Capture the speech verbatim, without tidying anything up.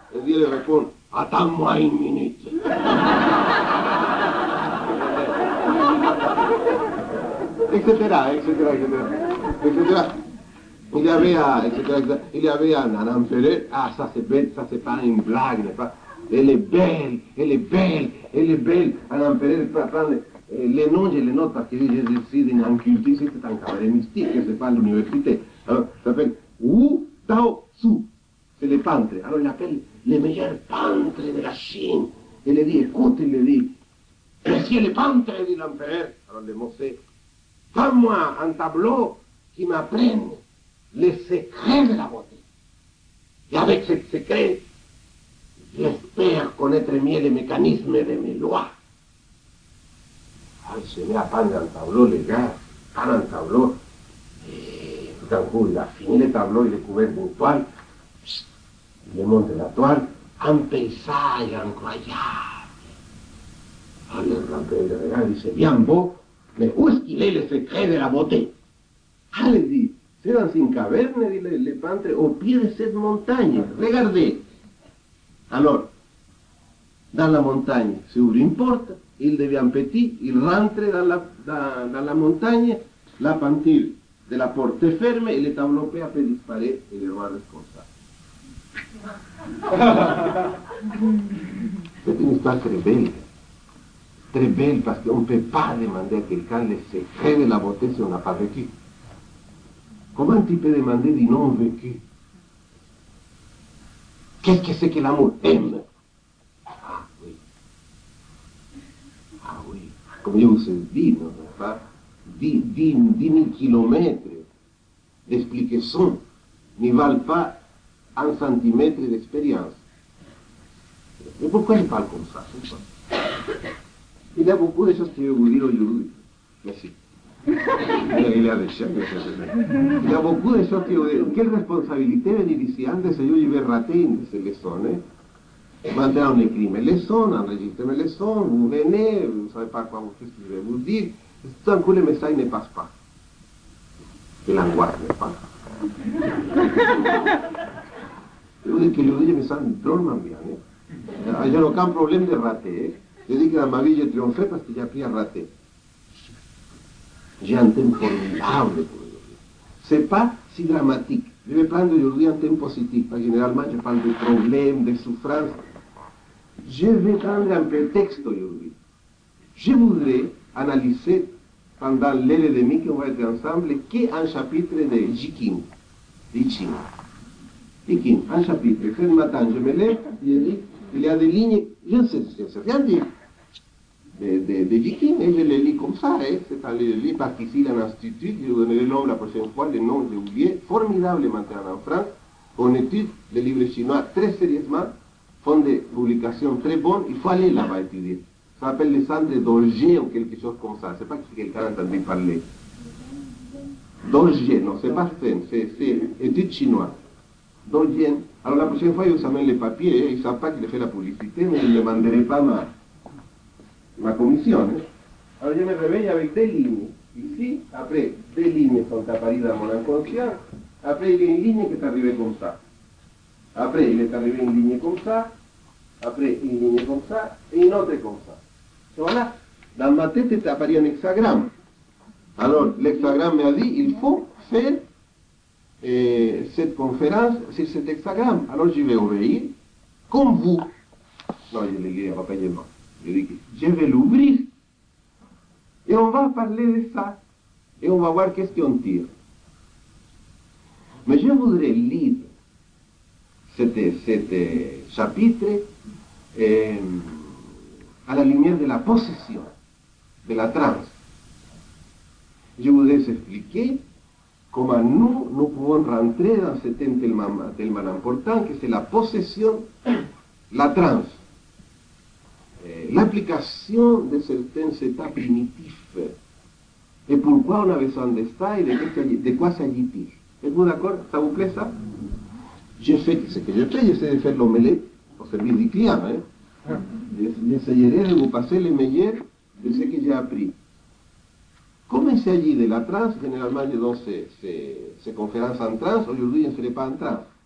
Le vieux lui répond, attends-moi une minute. etc., etc., etc., etc. Il y avait, à, et cetera, il y avait un, un empereur, ah ça c'est bête, ça c'est pas une blague, n'est-ce pas? Elle est belle, elle est belle, elle est belle. Un empereur peut prendre les noms, je les note parce que je suis en culture, c'est un cabaret mystique, que c'est pas à l'université. Alors, ça s'appelle Wu Tao Su, c'est les peintres. Alors il appelle les meilleurs peintres de la Chine. Il lui dit, écoute, il lui dit, monsieur le peintre, dit l'empereur. Alors le mot c'est, fais-moi un tableau qui m'apprenne les secrets de la beauté. Et avec ce secret, j'espère connaître mieux les mécanismes de mes lois. Alors, il se met à peindre un tableau, les gars, peindre un tableau, et tout d'un coup, il a fini le tableau, il est couvert d'une toile, il monte la toile, un paysage incroyable. Alors, le rappel le regarde, il dit, c'est bien beau, mais où est-ce qu'il est le secret de la beauté? Ah, il dit, c'est dans une caverne, dit le, le peintre, au pied de cette montagne. Regardez. Alors, dans la montagne, s'ouvre une porte, il devient petit, il rentre dans la, dans, dans la montagne, la peinture de la porte est ferme et le tableau peut à peu disparaître et le roi responsable. C'est une histoire très belle. Très belle parce qu'on ne peut pas demander à quelqu'un le secret de la beauté si on n'a pas vécu. Comment tu peux demander du non vécu? Qu'est-ce que c'est que l'amour? Aime. Ah oui. Ah oui. Comme je vous ai dit, non, pas dix mille kilomètres d'explication ne valent pas un centimètre d'expérience. Mais pourquoi je parle comme ça? Il y a beaucoup de choses que je vais vous dire aujourd'hui. Merci. Il y a des choses. Il y a beaucoup de choses que je vais vous dire. Quelle responsabilité venir ici? Antes yo j'avais raté une leçon. Eh? Maintenant on écrit mes leçons, enregistre mes leçons, vous venez, vous ne savez pas quoi vous faites, ce que je vais vous dire. Tout d'un coup le message ne passe pas. Et l'angoisse ne passe pas. Je vous dis que aujourd'hui je me sens drôlement bien. Eh? Je n'ai aucun problème de rater. Eh? Je dis que dans ma vie j'ai triomphé parce que j'ai appris à rater. J'ai un thème formidable pour aujourd'hui. C'est pas si dramatique. Je vais prendre aujourd'hui un thème positif, parce que généralement je parle de problèmes, de souffrances. Je vais prendre un prétexte aujourd'hui. Je voudrais analyser pendant l'heure et demie qu'on va être ensemble qu'un chapitre de Jikin, de Chine. Jikin, un chapitre. Ce matin, je me lève, je dis, il y a des lignes, je ne sais, je ne sais rien dire. De, de, de Jikin, et je les lis comme ça, hein. C'est à les lire parce qu'ici, il y a un institut, je vous donnerai le nom la prochaine fois, le nom, j'ai oublié, formidable maintenant en France, on étudie les livres chinois très sérieusement, font des publications très bonnes, il faut aller là-bas étudier. Ça s'appelle le centre d'Orgé ou quelque chose comme ça, c'est pas que quelqu'un a entendu parler. D'Orgé, non, c'est pas Fen, c'est études chinois. D'Orgé. Alors la prochaine fois, ils vous amènent les papiers, hein. Ils ne savent pas qu'il fait la publicité, mais ils ne demanderaient pas mal. Ma commission. Hein? Alors je me réveille avec des lignes. Ici, après, des lignes sont apparues dans mon inconscient. Après, il y a une ligne qui est arrivée comme ça. Après, il est arrivé une ligne comme ça. Après, une ligne comme ça. Et une autre comme ça. Et voilà. Dans ma tête est apparu un hexagramme. Alors, l'hexagramme m'a dit, il faut faire euh, cette conférence sur cet hexagramme. Alors, je vais obéir comme vous. Non, je l'ai dit à papa et moi. Je dis que je vais l'ouvrir et on va parler de ça et on va voir qu'est-ce qu'on tire. Mais je voudrais lire cet chapitre euh, à la lumière de la possession, de la transe. Je voudrais expliquer comment nous, nous pouvons rentrer dans ce thème tellement, tellement important que c'est la possession, la transe. L'application de certains états primitifs et pourquoi on a besoin de ça et de, de quoi s'agit-il. Êtes-vous d'accord? Ça vous plaît ça? Je fais ce que je fais, j'essaie de faire l'omelette au service du client. Hein? J'essaierai de vous passer le meilleur de ce que j'ai appris. Comme il s'agit de la transe, généralement je donne ces, ces, ces conférences en transe, aujourd'hui je ne serai pas en transe.